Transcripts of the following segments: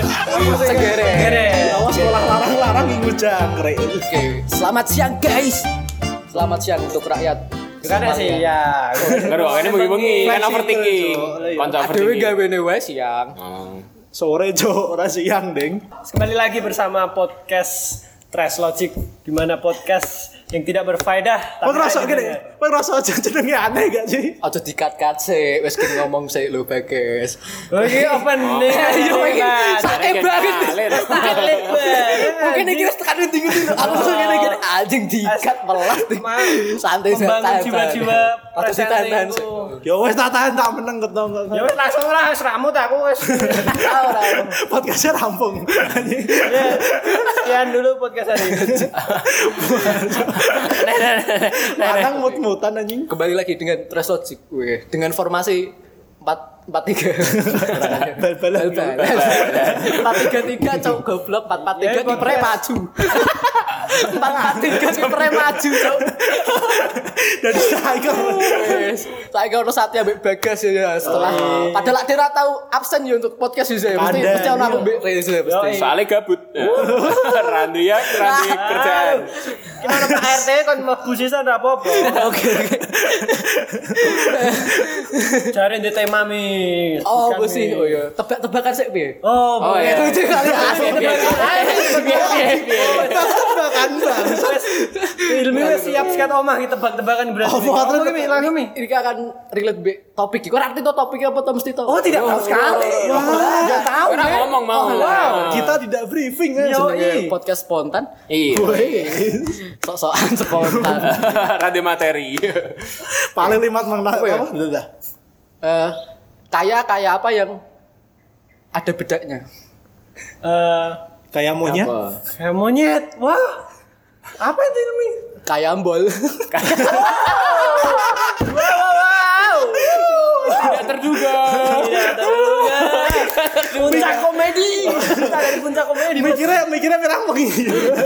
Segere. Awas sekolah larang-larang minggu jangkrik. Oke, selamat siang guys. Selamat siang untuk rakyat. Bukan sih ya. Aduh, ini bengi-bengi kan overthinking. Kanca Adewe overthinking. gawene wae siang. Sore jo, ora siang, Ding. Kembali lagi bersama podcast Trash Logic, di mana podcast yang tidak berfaedah. Kok ngerasa gini? Kok ngerasa aja jenenge aneh gak sih? Aja dikat-kat sih, wis ki ngomong sih lho Bagas. Oh iki opening. Ayo iki sakit banget. Mungkin iki wis tekan ndi-ndi. Aku langsung ngene anjing dikat melas. Santai Membangun jiwa-jiwa presiden itu. Ya wis tak tahan tak meneng ketong. Ya wis langsung lah wis ramut aku wis. ora. Podcastnya rampung. Ya, sekian dulu podcast hari ini. Lanang mut-mutan anjing. Kembali lagi dengan Trash Logic gue dengan formasi 4-4-3. Bal-balan. 4-3-3 cok goblok 4-4-3 kipernya maju. 4-4-3 kipernya maju cok. Dari striker. Wes, saya ono Satya mbek Bagas ya setelah padahal dia ora tahu absen ya untuk podcast ya mesti ono aku mbek Reza pasti. Soalnya gabut. Randy kerjaan. Kita ada Pak RT kon mlebu sisan ra apa-apa. Oke. Cari di tema mi. Oh, sih. Oh ya, tebak-tebakan sik piye? Oh, iya. Itu kali asli. Tebakan bang. Ilmu wis siap sekat omah kita tebak-tebakan berarti. Langsung mi. Ini akan relate be topik. Kok arti to topiknya apa to mesti to? Oh, tidak tahu sekali. Enggak tahu. Orang ngomong mau. Kita tidak briefing kan. Jenenge podcast spontan. Iya. Sok-sokan spontan. Randy materi. Paling limat menang Apa ya? apa? Udah. Kayak apa yang ada bedanya? Kayak monyet. Kayak monyet. Wah. Apa itu mi? Kayak ambol. Wow. Tidak terduga. Tidak terduga. Puncak komedi. Kita dari puncak komedi. Mikirnya pirang begini.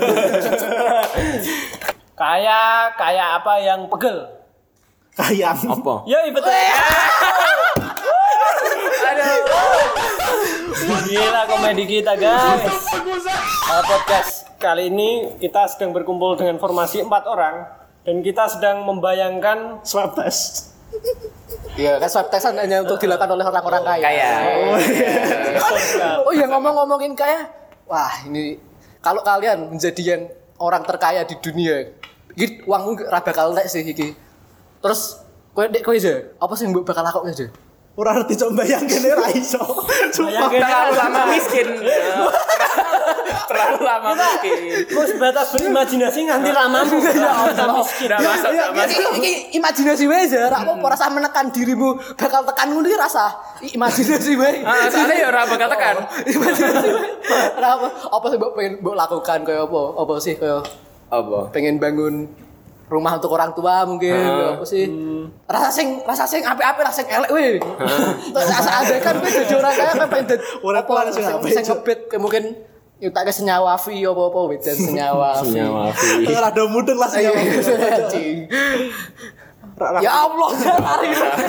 Kayak apa yang pegel? Kayak Apa? Ya, betul. Aduh. Gila komedi kita, guys. Podcast kali ini kita sedang berkumpul dengan formasi 4 orang dan kita sedang membayangkan swab test. Iya, kan swab testan hanya untuk dilakukan oleh orang-orang kaya. Oh iya, ngomongin kaya. Wah, ini kalau kalian menjadi yang orang terkaya di dunia, iki uangmu ra bakal entek sih iki. Terus kowe aja, apa sih mbok bakal lakukan aja? Ora ngerti coba bayangke ra iso. Sumpah. Terlalu lama miskin. Terlalu lama miskin. kok sebatas berimajinasi nganti lamamu. Ya Allah, miskin. Iki imajinasi wae aja, ra apa rasa menekan dirimu bakal tekan ngono iki rasa. Imajinasi wae. Soalnya ya ora bakal tekan. Imajinasi wae. Ra apa sih mbok pengen mbok lakukan kayak apa? Apa sih kayak Apa? pengen bangun rumah untuk orang tua mungkin apa sih rasa sing apik-apik rasa sing elek we rasa ada kan kowe dadi orang kaya kan pengen dadi Urip lan sing apik, sing ngebet mungkin nyutake senyawa fi apa wedan senyawa fi Ora ada mudeng lah sih. anjing ya Allah lari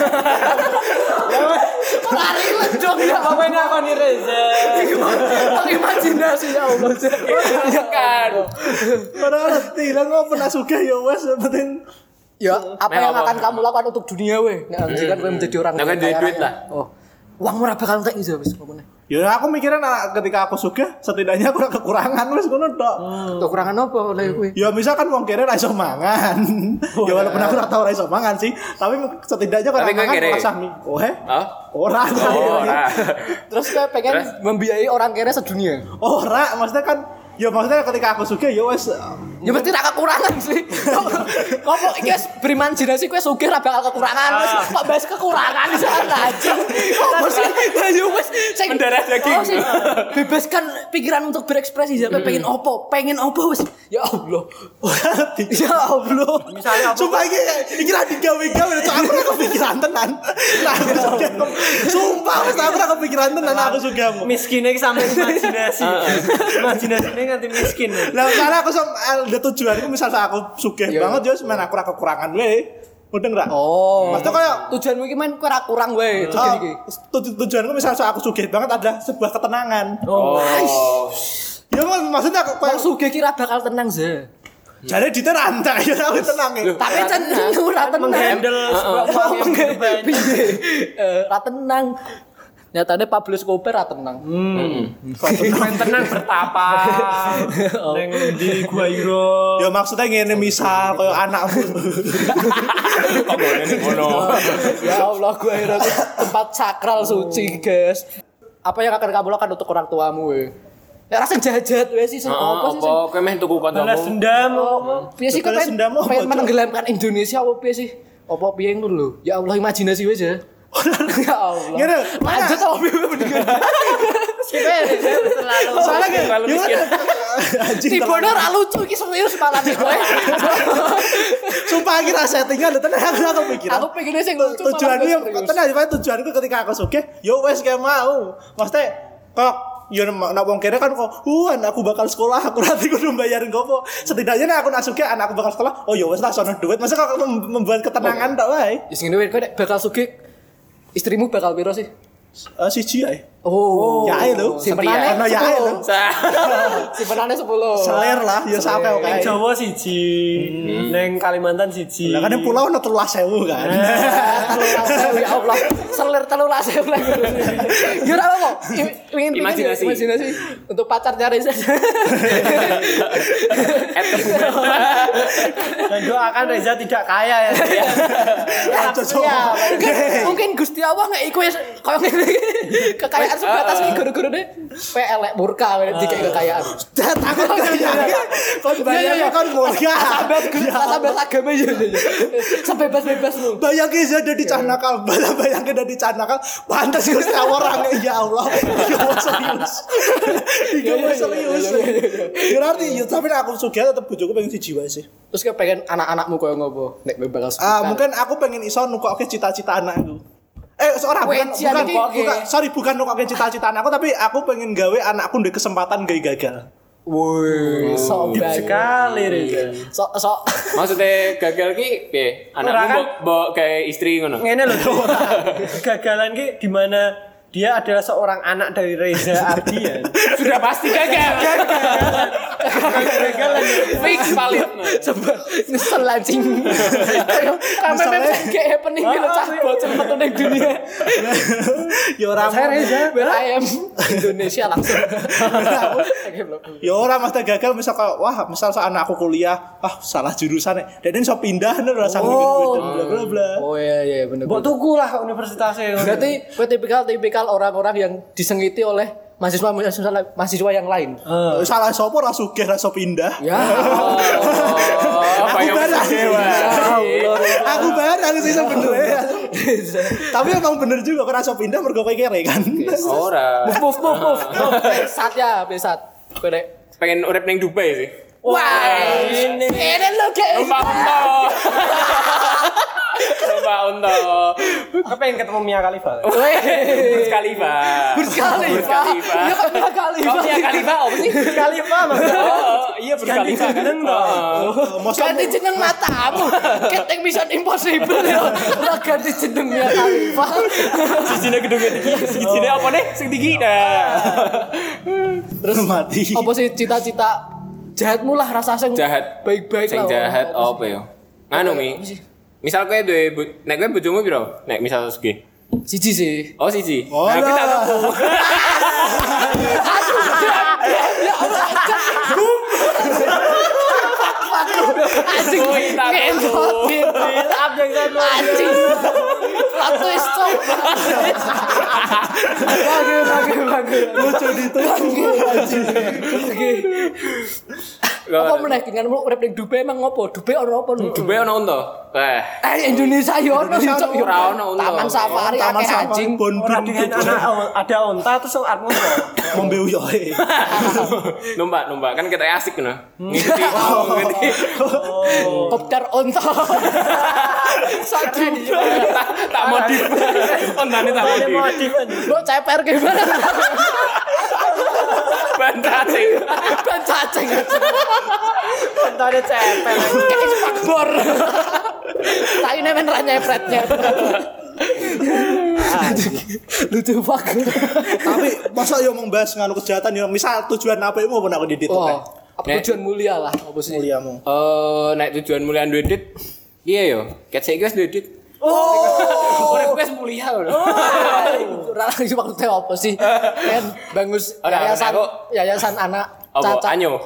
dong ya Apa ini aku nih Reza? imajinasi ya Allah Kan. Ora ngerti lah kok pernah sugih ya wes penting. ya apa yang akan kamu lakukan untuk dunia we nek kan kowe menjadi orang Nah, kan kaya duit raya. lah. Oh uang murah bakal entek iso wis ngomongnya Ya aku mikirnya ketika aku sugih setidaknya aku ora kekurangan wes ngono tok. kekurangan apa oleh kowe Ya misalkan wong kere ra iso mangan. Ya walaupun aku ora tau ra iso mangan sih, tapi setidaknya kalau Tapi kowe mangan kere. rasa mie. Oh he? Oh? Ora. Ora. terus kowe pengen membiayai orang kere sedunia Ora, maksudnya kan ya maksudnya ketika aku sugih ya wes ya mesti ra kekurangan sih kok iki wis berimajinasi kowe sugih ra bakal kekurangan wis kok bahas kekurangan iso anjing kok sih ya wis sing Mendarah daging. sih bebaskan pikiran untuk berekspresi ya pengen opo wis ya Allah ya Allah Misalnya apa? Sumpah iki ra digawe-gawe cok aku ora kepikiran tenan. Nah, sumpah wes aku ora kepikiran tenan aku sugih. Miskinnya sampai imajinasi. Imajinasinya nganti miskin. Lah karena aku ada tujuanku misalnya aku sugih Iya. banget ya semen aku ora kekurangan we. Mudeng ra? Oh. Maksudnya kayak Tujuanmu iki men kowe ora kurang wae Ah, iki. tujuanku misalnya aku sugih banget adalah sebuah ketenangan. Oh. Ya maksudnya Wong kayak sugih ki ora bakal tenang ze. jare diterantak ya aku tenang ya. Tapi cenderung ora tenang. Menghandle sebuah uang yang begitu banyak. Piye? Ora tenang. Nyatane Pablo Escobar ora tenang. Main tenang bertapa neng di Gua Hiro. Ya maksudnya ngene misal kayak anakmu. Kok ngene ngono. Ya Allah, gue akhirnya tempat sakral suci, guys. Apa yang akan kamu lakukan untuk orang tuamu? Ya rasa jahat-jahat wes sih, apa sih? Apa kowe meh tuku Balas kancamu? dendam. Piye sih Balas pengen dendam apa, pengen Cok? menenggelamkan Indonesia apa piye sih? Apa piye ngono lho? Ya Allah, imajinasi wes ya. Ya Allah. Ngene, Lanjut apa piye mendingan? Selalu. Soalnya kayak Terlalu miskin. anjing. Tiba-tiba ora lucu iki serius malah nih kowe. Sumpah kira settingan tenan aku pikiran. Aku pengen sing lucu. Tujuanku yang tenan tujuanku ketika aku sugih, yo wes kayak mau. Maksudnya kok yo nek wong kene kan kok aku bakal sekolah, aku nanti kudu bayarin gopo. Setidaknya nek aku nak sugih anakku bakal sekolah, oh yo wes lah sono duit. Masa kok membuat ketenangan tok wae. Wis ngene kowe nek bakal sugih istrimu bakal piro sih? Siji ae. Oh. Ya ae lho. Simpenane Ono ya ae lho. Simpenane 10. Seler lah, ya sampe oke. Neng Jawa siji, neng Kalimantan siji. Lah kan yang pulau ono 13.000 kan. Ya Allah, selir 13.000 lagi. Ya ora apa. Imajinasi. Imajinasi untuk pacarnya Reza. Dan doakan Reza tidak kaya ya. Ya, mungkin Gusti Allah nggak iku koyo ngene iki. Kekayaan sebatas iki guru-guru deh. Elek murka dikek kekayaan. Dan aku kaya. Kon bayar kon murah. Sampai agama ya. Sebebas-bebas lu. Bayangin saya dari Canakal, bayangin dari Canakal, pantas Gusti Allah orangnya ya Allah. Iya serius. Berarti ya tapi aku sugih tetep bojoku pengen siji wae sih. Terus kayak pengen anak-anakmu koyo ngopo? Nek bakal suka. Mungkin aku pengen iso nukokke cita-cita anakku. Seorang bukan nukokke cita-cita anakku tapi aku pengen gawe anakku ndek kesempatan gawe gagal. Woi, sok Sekali Reza. sok. Maksudnya gagal ki piye? Anakmu mbok kayak istri ngono. Ngene lho. Kegagalan ki di mana dia adalah seorang anak dari Reza Ardian. Sudah pasti gagal. Kegagalan Fix valid. Sebab nyesel anjing. Kayak memang kayak happening gitu cah bocil metu ning dunia. Ya ora ayam Indonesia langsung. ya ora mesti gagal misal misal anakku kuliah, salah jurusan dan iso pindah nih rasa mikir bla bla bla. Oh iya bener. Mbok tuku lah universitasnya. Berarti kowe tipikal orang-orang yang disengiti oleh mahasiswa yang lain. Salah sapa ora sugih ra iso pindah. Ya. Aku bayar harus iso bener ya. Tapi emang bener juga kok ra iso pindah mergo kowe kere kan. Ora. Move. Besat. Kowe nek Pengen urip ning Dubai sih. wah, ini lo kayak Numpak unta. Aku pengen ketemu Mia Khalifa. Burj Khalifa. Burj Khalifa. Iya kan Mia Khalifa. Oh, Mia Khalifa apa sih? Burj Khalifa Iya Burj Khalifa kan. Ganti jeneng matamu. Ketek Mission Impossible ya. Ora ganti jeneng Mia Khalifa. Sijine gedungnya tinggi, sijine apa nih? Sing tinggi dah. Terus mati. Apa sih cita-cita jahatmu lah rasa sing Jahat. baik-baik Sing lah. jahat apa ya? Nganu Mi. Misal kowe duwe nek kowe bojomu piro? Nek misal segi. Siji sih. Oh siji. Oh, Nah, kita lah. tuku. Anjing ngentot. Maaf yang satu. Anjing. Lato stop. Bagus. Lucu ditunggu anjing. Apa meneh dengan urip ning Dubai emang ngopo? Dubai ono apa nu? Dubai ono unta. Indonesia yo ono cok yo. Ora ono unta. Taman safari akeh anjing. Orang dengan anak ada onta terus arep ngono. Ngombe uyoe. Numpak kan kita asik ngono. Ngikuti. Kopter onta. Satu. Tak modif. Ontane tak Ada modif. modif aja. Lo ceper gimana? Ban cacing. Ban cacing. Ontane cepet. Kayak spakbor. Tak ini men ra nyepretnya. Lucu banget. Tapi masa yo membahas nganu kejahatan yo misal tujuan apikmu apa nak didit Oh, apa tujuan mulia lah apa sih? muliamu. Nek tujuan mulia duwe dit. Iya yo, ket saiki wis duwe dit. Oh, wis mulia lho. Ora lagi maksudnya apa sih? Kan bangus yayasan anak Apa cacat. anyo?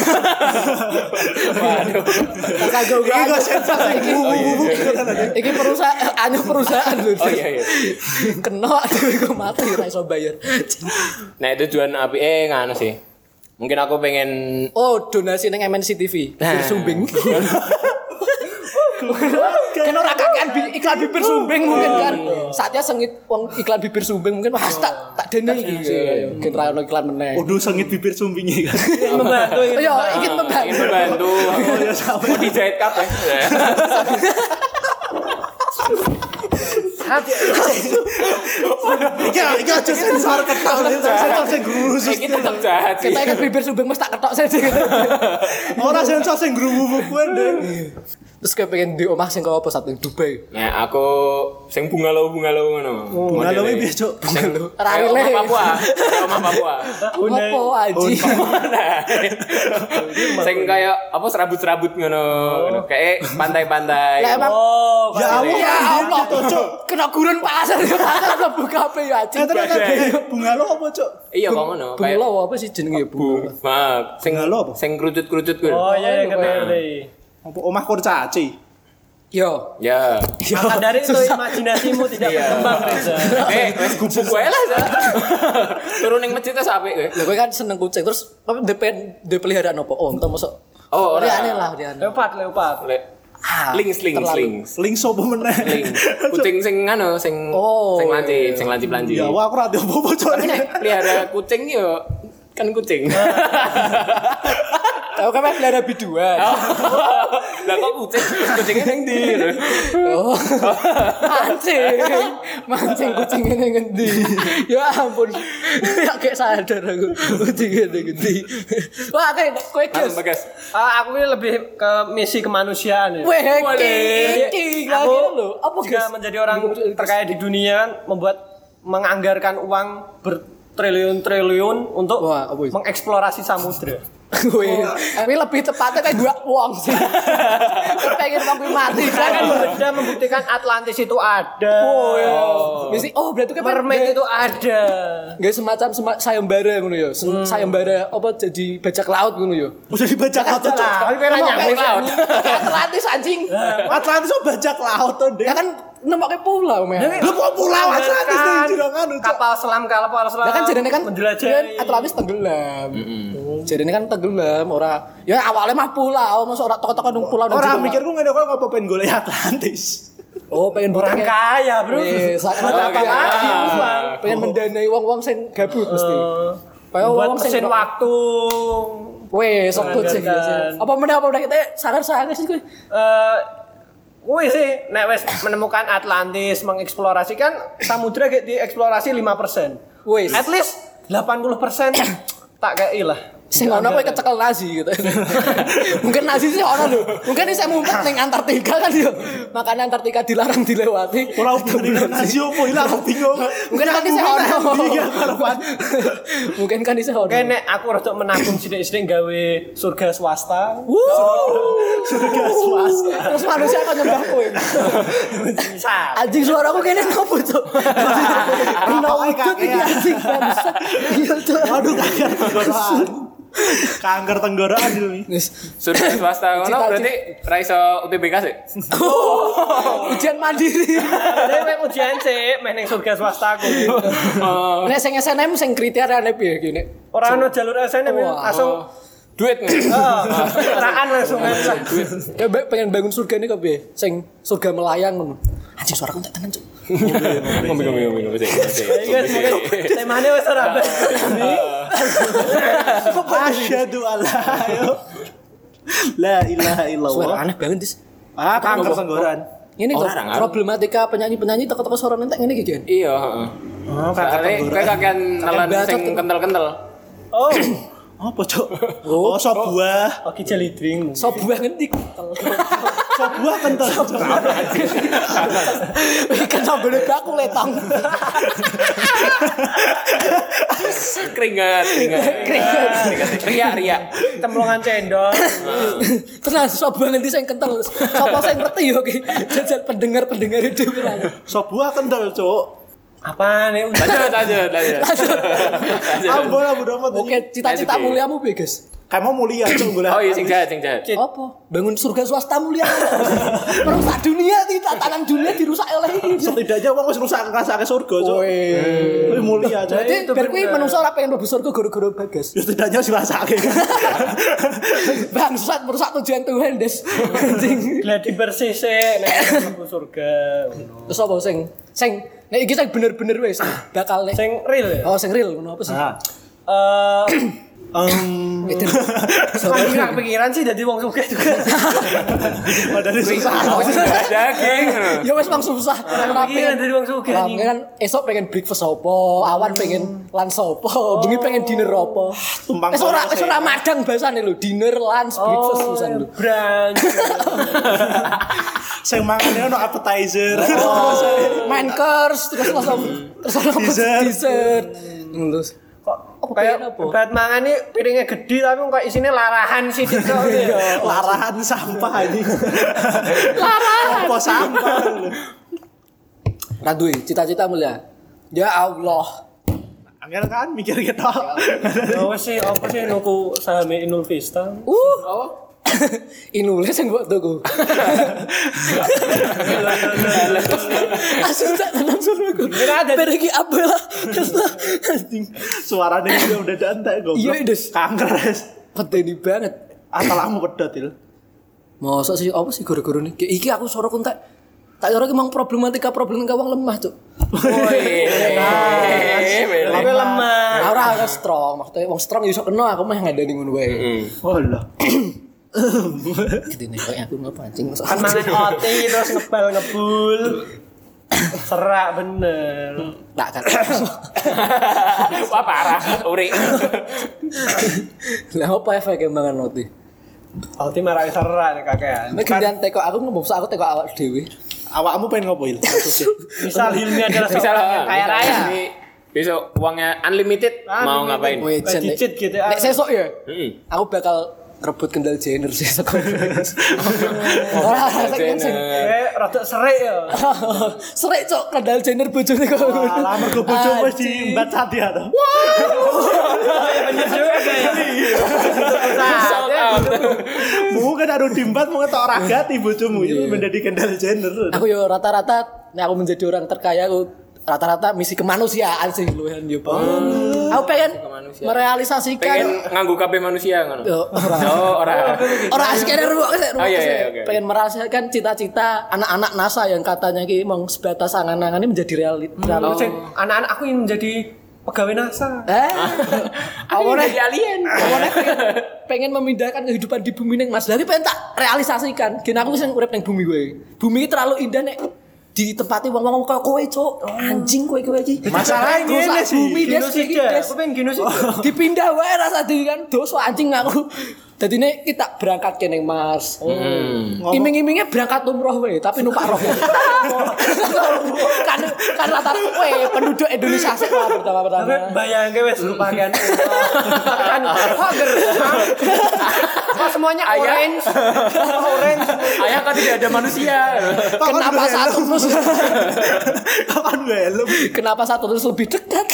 Waduh. Kagak Iki sensasi Iki perusahaan lho. Oh iya. Kena dhewe kok mati ora iso bayar. Nek tujuan apike ngono sih. Mungkin aku pengen Oh, donasi ning MNC TV. Sumbing. Kan ora kakean iklan bibir sumbing mungkin kan. Saatnya sengit wong iklan bibir sumbing mungkin wah tak dene iki. Mungkin ra ono iklan meneh. Waduh sengit bibir sumbingnya kan. Membantu ini. Yo, ingin membantu. Mau dijahit kabeh. Iki aja sensor ketok sensor sing guru Iki tetep jahat sih. Kita ingat bibir sumbing mesti tak ketok saja. ora sensor sing guru kuwi ndek. Terus kayak pengen di omah sing kok apa satu Dubai. Nah, aku sing bungalau ngono. Bunga lo piye cuk? Rarile. Omah Papua. Apa aji? Sing kaya apa serabut-serabut ngono. Kayak pantai-pantai. Lah emang Ya Allah, ya Allah cuk. Kena gurun pasar mlebu kafe ya aji. bunga lo apa cuk? Iya kok ngono. Kayak Bunga apa sih jenenge bunga? Mak, sing Bunga lo apa? sing kerucut-kerucut kuwi. Oh iya ngerti. Apa omah kurcaci? Yo. Ya. Maka dari itu imajinasimu tidak berkembang Reza. Wes gubuk wae lah. Sa. Turun ning masjid wis apik kowe. Lah kowe kan seneng kucing terus apa de peliharaan apa? Oh, entah masuk. Oh, ora. Aneh lah dia. Leopard. Lings. Link sopo meneh? Ling. Kucing sing anu sing Oh, sing lancip-lancip. Ya aku ora ada apa-apa cuk. Pelihara kucing yo kan kucing. Aku kan pelihara biduan. Lah kok kucingnya ning ndi? Oh. Mancing kucingnya ning ngendi? Ya ampun. Ya kayak sadar aku kucingnya ning ngendi. Wah, kayak kowe guys. Bagas. Aku ini lebih ke misi kemanusiaan ya. Weh, Jadi, iki aku lagi lho. Apa jika guys? menjadi orang terkaya di dunia menganggarkan uang bertriliun-triliun untuk Wah, apa itu? mengeksplorasi samudra. Wih, ini lebih tepatnya kayak dua uang sih. Pengen waktu mati. Saya kan sudah membuktikan Atlantis itu ada. Berarti kan Mermaid itu ada. Gak semacam sayembara ngono ya. Sayembara apa jadi bajak laut ngono ya. Udah dibaca laut cuk. Tapi kira nyambung laut. Atlantis anjing. Atlantis kok bajak laut to, Dek. Ya kan nemoknya pulau men. Lu kok pulau Atlantis ning jero anu cuk. Kapal selam. Ya kan jadinya kan menjelajahi. Atlantis tenggelam. Jadinya kan tenggelam ora. Ya awalnya mah pulau, masa ora toko-toko nang pulau nang Ora jero. mikirku ngene kok ngopo pengen golek Atlantis. Oh, pengen Orang kaya, Bro. Pengen mendanai wong-wong sing gabut mesti. Kayak Buat wong sing mesin waktu. weh, sok kucing Menganggarkan. Apa meneh kita sadar sih kuwi. Wih sih, nek wes menemukan Atlantis, mengeksplorasi kan samudra kayak dieksplorasi 5%. Wes. At least 80% tak kei lah. Sing ono kowe kecekel Nazi gitu. Mungkin Nazi sih ono lho. Mungkin saya ngumpet ning Antartika kan yo. Makanya Antartika dilarang dilewati. Ora hubungan nasi opo ilang aku bingung. Mungkin kan saya ono. Iya karepan. Mungkin kan saya ono. Oke, nek aku rada menabung sithik-sithik gawe surga swasta. Surga swasta. Terus manusia akan nyembah kowe. Bisa. Anjing suaraku kene nopo, Cuk? Kenapa iki anjing bangsa? Iya, Cuk. Aduh kanker kanker tenggorokan ini. Surga swasta ngono Cita-cita. berarti ra iso UTBK sih. Ujian mandiri. Nek ujian sih, main ning surga swasta aku. Nek sing SNM sing kriteriane piye iki nek? Ora ono jalur SNM Wah. langsung Duit ngono. teraan langsung aja. Ya pengen bangun surga ini kok piye? Sing surga melayang ngono. Anjing suaraku tak tenan, Cuk. Ngomong. Iya, temane wis ora Asyhadu alla la ilaha illallah. Suara aneh banget, Dis. Kanker tenggorokan. Ini kok Orang, problematika penyanyi-penyanyi teko-teko suara entek ngene iki, Jan. Iya, heeh. Soale kowe kakean nelan sing kental-kental. Oh, Apa cok? Oh sop buah. oke jelly drink. Sop buah ngendi kental. Sop buah kental. Ikan sambal aku letang. Keringat. Ria. Templongan cendol. Tenan sop buah nanti sing kental. Sapa sing ngerti yo iki. Jajal pendengar itu. Sop buah kental, Cuk. Apa nih? Lanjut. Ambon abu domat. Oke, cita-cita muliamu piye, Guys? Kamu mulia, Cuk. Oh iya sing jahat. Apa? Bangun surga swasta mulia. Merusak dunia, tatanan dunia dirusak oleh ini. Setidaknya wong wis rusak ngrasake surga, Cuk. Wih mulia, Cuk. Berarti bar kuwi menungso ora pengen mlebu surga gara-gara Bagas. Ya setidaknya wis rasake. Bangsat merusak tujuan Tuhan, Des. Anjing. Gladi bersih sih nek mlebu surga. Terus apa sing nek iki sing bener-bener wis bakal nek Sing real ya. oh sing real ngono apa sih? Itu. Pikiran sih jadi wong sugih juga. Padahal susah. Daging. Ya wis wong susah. Pikiran dari wong sugih. Kan esok pengen breakfast apa, awan pengen lunch apa, bengi pengen dinner apa. Tumpang Wis ora madang basane lho, dinner, lunch, breakfast pisan lho. Brunch. Sing mangane ono appetizer. Main course terus langsung dessert. Terus Kok kayak bat mangan nih piringnya gede tapi kok isinya larahan sih gitu. Larahan sampah ini. Larahan. Apa sampah? Radui, cita-cita mulia. Ya Allah. Angel kan mikir gitu. Apa sih nuku saham Inul Vista? Inule sing mbok tuku. Asus tak tenan suruhku. Pergi apa lah. Suaranya udah dantai goblok. Iya, Des. Kanker, Des. Pedeni banget. Asalmu pedot, Il. Masa sih apa sih guru-guru nih? Iki aku suara kontak. Tak kira emang problematika wong lemah, Cuk. Woi. Tapi lemah. Ora strong, maksudnya wong strong iso kena aku mah ngandani ngono wae. Oh lah. Gitu nih kayak aku ngepancing. Kan mangan oti terus ngebul. Serak bener. Tak kan. Wah parah, uri. Lah apa efek mangan roti? Oti marai serak nih kakean. Nek gantian teko aku ngomong aku teko awak dhewe. Awakmu pengen ngopo, Il? Misal Hilmi adalah seorang yang kaya raya. Besok uangnya unlimited, mau ngapain? Weh, Digit gitu. Nek sesuk ya. Aku bakal rebut Kendall Jenner sih sekolah. Ora sing Rada serik ya. serik cok Kendall Jenner bojone kok. Lah mergo bojomu wis diimbat sati ya to. Bener juga Mungkin ada dimbat mau ngetok ragati bojomu itu menjadi Kendall Jenner. Aku yo rata-rata nek aku menjadi orang terkaya aku rata-rata misi kemanusiaan sih luwehan yo. Aku pengen merealisasikan Pengen nganggu kabeh manusia ngono. Yo, ora asikane ruwuk sik. Oke. Pengen merealisasikan cita-cita anak-anak NASA yang katanya ki mong sebatas angan-angan ini menjadi realita. Anak-anak aku yang menjadi pegawai NASA. Awalnya jadi alien. Awalnya pengen memindahkan kehidupan di bumi ning Mas. Jadi pengen tak realisasikan. Gen aku sing urip ning bumi kowe. Bumi terlalu indah nek ditempati wong-wong kaya kowe, Cuk. Anjing kowe iki. Masalahnya ngene sih. Bumi Genosida. Aku pengen genosida. dipindah wae rasa dhewe kan dosa anjing aku. Dadine kita berangkat ke ning Mars. Iming-imingnya berangkat umroh wae, tapi numpak roh. kan rata kowe penduduk Indonesia sih lah pertama-tama. Bayangke wis lupakan. Kan hager. Kok semuanya orange. Orange. Ayah kan tidak ada manusia. Kenapa satu terus Kapan gue helm? kenapa satu terus lebih dekat?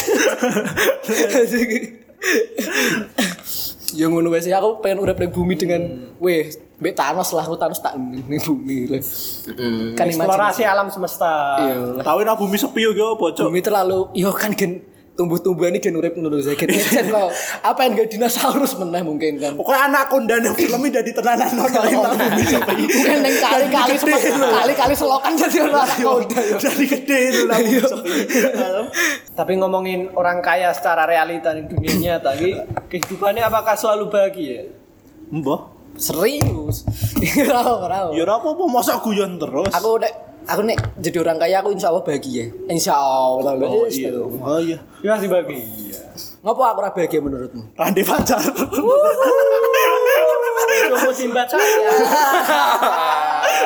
Ya ngono wes aku pengen urip ning bumi dengan mbek Thanos lah, aku Thanos tak ning bumi lho. Kan Eksplorasi alam semesta. Iya. Tahu nek bumi sepi yo apa, Cuk? Bumi terlalu yo kan gen tumbuh-tumbuhan ini gen urip ngono lho. Gen kok apa yang gak dinosaurus meneh mungkin kan. Pokoknya anak kondan yang filmnya jadi tenanan nonton bumi sepi. Mungkin ning kali-kali selokan jadi ora udah yo. Jadi gede itu lah bumi sepi. Tapi ngomongin orang kaya secara realita di dunia nyata, kehidupannya apakah selalu bahagia? Mbah. Serius. Ora. Ya ora apa-apa mosok guyon terus. Aku nek jadi orang kaya aku insyaallah bahagia. Insyaallah. Oh iya. Oh iya. Ya masih bahagia. Ngopo aku ora bahagia menurutmu? Randi pacar. Coba simbat saya.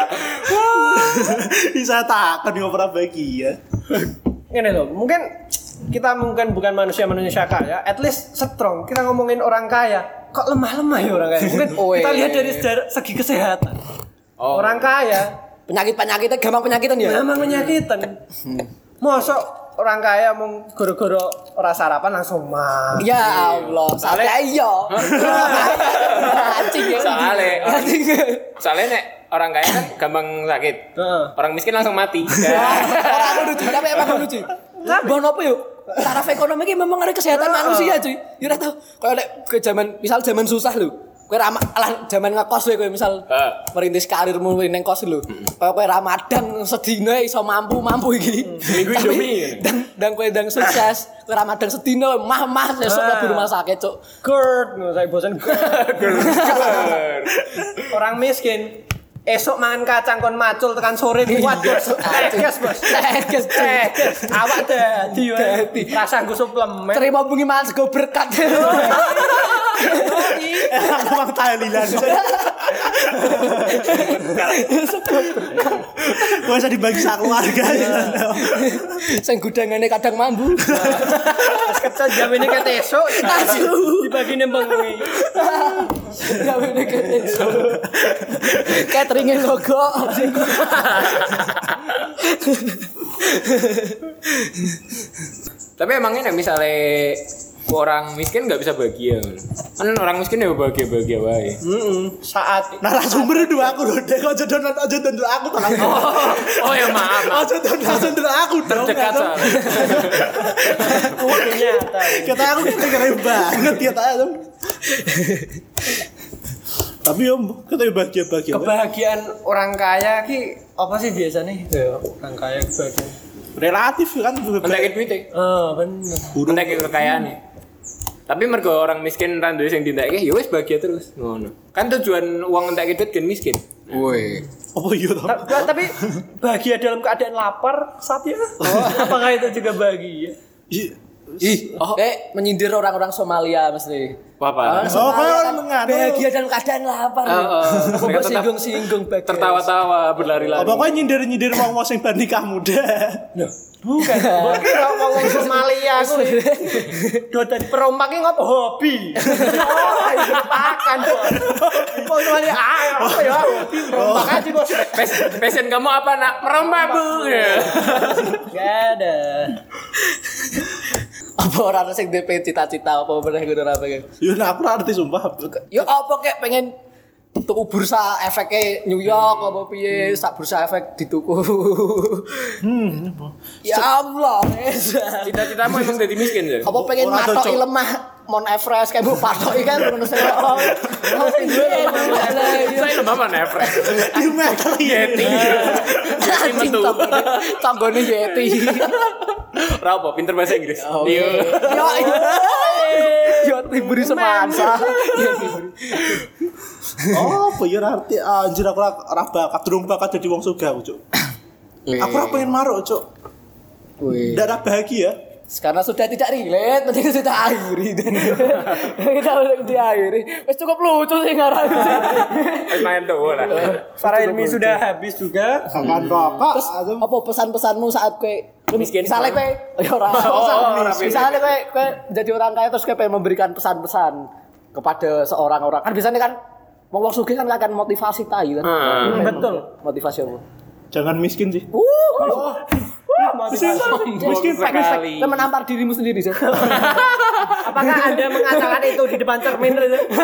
Bisa takon yo pernah bahagia. Ini loh, mungkin kita bukan manusia kaya, at least strong. Kita ngomongin orang kaya, kok lemah-lemah ya orang kaya. Mungkin kita lihat dari segi kesehatan. Orang kaya Penyakit-penyakitnya gampang penyakitan ya. memang menyakitan. Mosok orang kaya mau goro-goro ora sarapan langsung mah. Ya Allah, salah iya. Anjing ya. Soalnya nek orang kaya kan gampang sakit. Orang miskin langsung mati. Orang lucu, tapi emang lucu. Bon apa yuk? Taraf ekonomi ini memang ada kesehatan manusia cuy. Ya udah tau. Kalau ke zaman susah lu. Kowe zaman ngekos kowe misal merintis karirmu ning kos lho. Kowe Ramadan sedina iso mampu iki. Minggu Indomie. Dan kowe ndang sukses. Kowe Ramadan sedina mah sesuk mlebu rumah sakit, Cuk. GERD, saya bosan GERD. Orang miskin esok mangan kacang kon macul tekan sore kuat bos. Bos. Awak dadi rasa nggo suplemen. Terima bengi mangan sego berkat. Emang tahlilan. Gua bisa dibagi sak keluarga. Sing gudangane kadang mambu. Pas kecil jamene ket esuk dibagi nang bengi. Jamene ket esuk. Cateringe logo. Tapi emangnya misalnya orang miskin nggak bisa bahagia kan orang miskin ya bahagia wae. Saat Narasumber dua aku loh, dek aja don aku tangan. Oh ya maaf. Aja don aku dong. Terdekat soalnya. nyata. Kata aku keren banget ya tahu. Tapi om, kita bahagia. Kebahagiaan orang kaya ki apa sih biasanya? Ya, orang kaya kebahagiaan. Relatif kan. Pendekit duitnya. Bener. Pendekit kekayaan. Tapi mergo orang miskin ra duwe sing dintekke ya wis bahagia terus ngono. Kan tujuan uang entek duit kan miskin. Woi. Oh iya toh. Tapi bahagia dalam keadaan lapar saat ya. Apakah itu juga bahagia? Menyindir orang-orang Somalia mesti. Apa? Somalia kan mengadu. bahagia dalam keadaan lapar. Aku Mereka tetap singgung bagus. Tertawa-tawa berlari-lari. Pokoknya nyindir wong sing bar nikah muda. Bukan. Kira ngomong Somalia aku. Do dadi perompak ki ngopo hobi. Oh, itu pakan kok. Kok Somalia apa ya? Perompak aja kok. Passion kamu apa nak? Merompak Bu. Gak ada. Apa orang sing DP cita-cita apa bener kudu ora pengen. Yo nek aku ora ngerti sumpah. Yo apa kek pengen tuku bursa efeknya New York apa piye sak bursa efek dituku. Ya Allah. Cita-citamu emang jadi miskin ya? Apa pengen Ora matoki cocok. lemah Mount Everest kayak Bu patoki kan ngono sing oh. Saya lemah mana Everest? Di meter Yeti. Anjing tanggone Yeti. Ora apa pinter bahasa Inggris. Yo. Yo tiburi semansa. Oh, apa ya arti anjir aku ora bakat durung bakat jadi wong sugih aku, Cuk. Aku ora pengen maruk, Cuk. Ndak ada bahagia. Karena sudah tidak relate, mending kita akhiri. Kita udah diakhiri. Wes cukup lucu sih ngarang. Main tuh lah. Para ilmi sudah habis juga. Makan rokok. Terus apa pesan-pesanmu saat kowe Miskin? misalnya kowe ya ora. Misalnya kowe jadi orang kaya terus kowe pengen memberikan pesan-pesan kepada seorang orang. Kan biasanya kan wong sugih kan akan motivasi tai kan. Betul. Motivasi apa? Jangan miskin sih. Miskin sekali. Kau menampar dirimu sendiri sih. Apakah Anda mengatakan itu di depan cermin?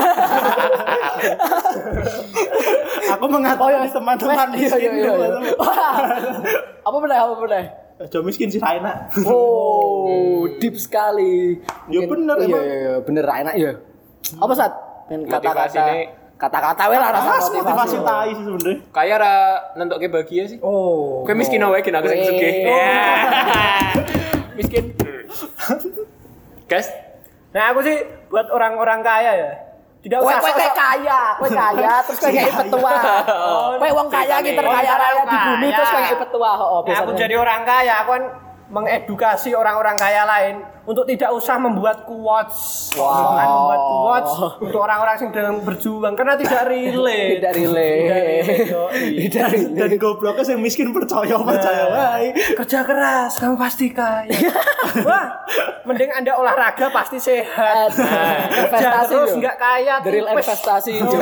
Aku mengatakan teman-teman miskin. Apa benar? Jangan miskin sih enak. Oh, deep sekali. Ya bener emang. Iya, bener enak ya. Apa Sat? Kata-kata wae lah rasa Motivasi tai sih sebenarnya. Kaya ra nentokke bahagia sih. Oh. Kowe miskin wae kena sing sugih. Miskin. Guys, Nah aku sih buat orang-orang kaya ya. Tidak usah Kowe kaya, terus kowe kayak petua. Kowe wong kaya iki terkaya raya di bumi terus kowe kayak petua. Nah, aku jadi orang kaya, aku kan mengedukasi orang-orang kaya lain untuk tidak usah membuat quotes. Jangan membuat quotes untuk orang-orang yang sedang berjuang karena tidak relate. Tidak relate. Dan gobloknya yang miskin percaya wae. Kerja keras, kamu pasti kaya. Wah, mending Anda olahraga pasti sehat. Kerja Investasi terus Jo. nggak kaya. The real tipes. investasi Jo.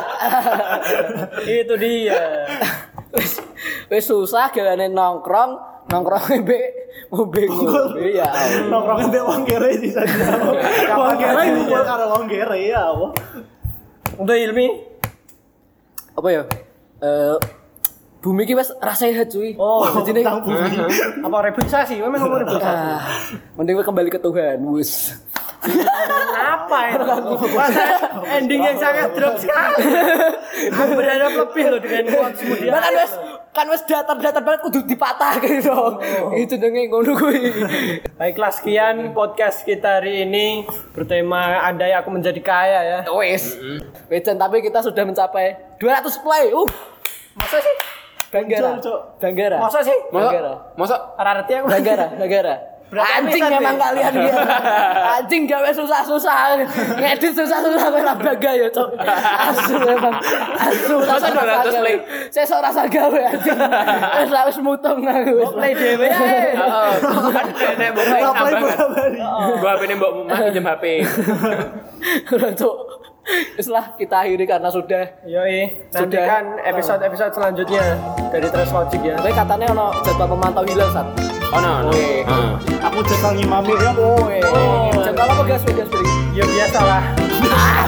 Itu dia. Wis susah gawane nongkrong ngombe ya. Nongkrongnya mbek wong kere di sana. Wong kere ngumpul karo wong kere ya Allah. Untuk Ilmi. Apa ya? Bumi ki wis ra sehat cuy. Oh, jadi tentang bumi. Apa reboisasi? Memang ngomong reboisasi. mending we kembali ke Tuhan, wis. Apa itu? Ending yang sangat drop sekali. Aku berharap lebih loh dengan quotes kemudian. Kan wis datar-datar banget kudu dipatahke dong. Itu denge ngono kuwi. Baiklah, sekian podcast kita hari ini bertema Andai Aku Menjadi Kaya ya. Wis. Wejan tapi kita sudah mencapai 200 play. Masa sih? Banggara. Banggara. Masa sih? Banggara. Masa Arti aku. Banggara. Anjing episode memang ya? kalian dia. Anjing gawe susah-susah. Ngedit susah-susah kowe ra bangga ya, Cok. Asu memang. Asu Masa 200 play? Saya ora rasa gawe anjing. Wis mutung aku. Play dhewe ae. heeh. Kan nek mbok main Play nambah kan. bola-bali. Mbok HP-ne mbok pinjem HP. Cok. Wis lah kita akhiri karena sudah. Yoi, nantikan episode-episode selanjutnya dari Trash Logic ya. Kowe katanya ono jadwal pemantau hilal Sat. Oh no. Weh. Aku jadwal ngimami ya. Jadwal apa gas beri? Ya biasalah.